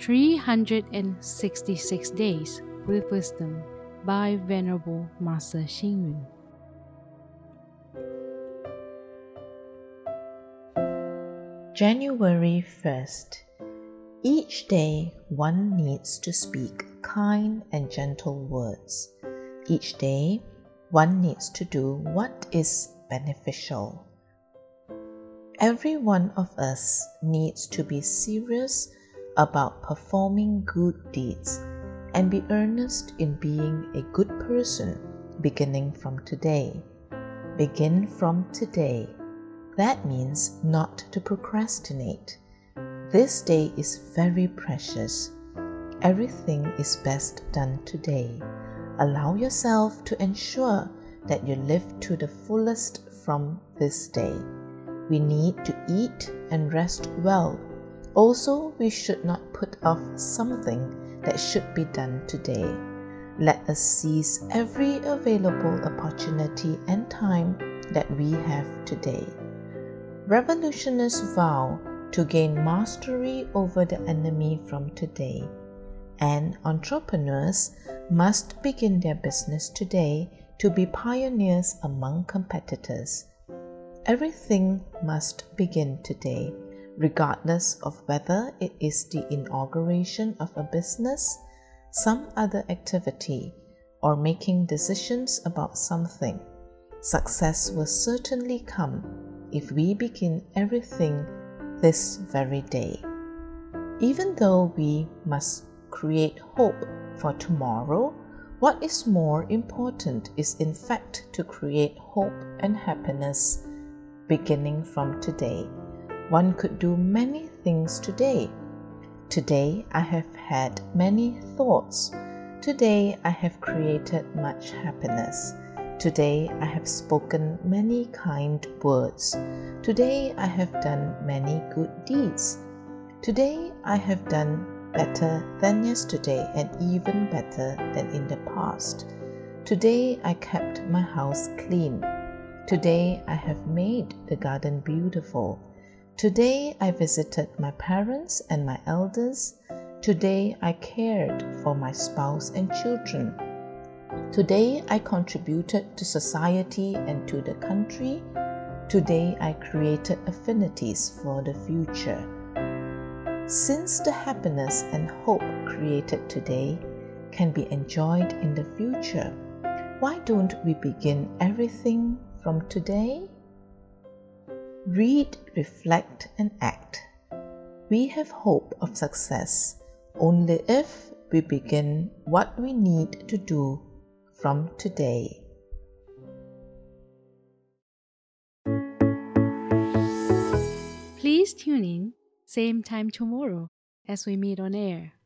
366 Days with Wisdom by Venerable Master Xing Yun. January 1st. Each day one needs to speak kind and gentle words. Each day one needs to do what is beneficial. Every one of us needs to be serious about performing good deeds and be earnest in being a good person beginning from today. Begin from today. That means not to procrastinate. This day is very precious. Everything is best done today. Allow yourself to ensure that you live to the fullest from this day. We need to eat and rest well. Also, we should not put off something that should be done today. Let us seize every available opportunity and time that we have today. Revolutionists vow to gain mastery over the enemy from today, and entrepreneurs must begin their business today to be pioneers among competitors. Everything must begin today, regardless of whether it is the inauguration of a business, some other activity, or making decisions about something. Success will certainly come if we begin everything this very day. Even though we must create hope for tomorrow, what is more important is in fact to create hope and happiness beginning from today. One could do many things today. Today I have had many thoughts. Today I have created much happiness. Today I have spoken many kind words. Today I have done many good deeds. Today I have done better than yesterday and even better than in the past. Today I kept my house clean. Today I have made the garden beautiful. Today I visited my parents and my elders. Today I cared for my spouse and children. Today I contributed to society and to the country. Today I created affinities for the future. Since the happiness and hope created today can be enjoyed in the future, why don't we begin everything from today? Read, reflect, and act. We have hope of success only if we begin what we need to do from today. Please tune in, same time tomorrow as we meet on air.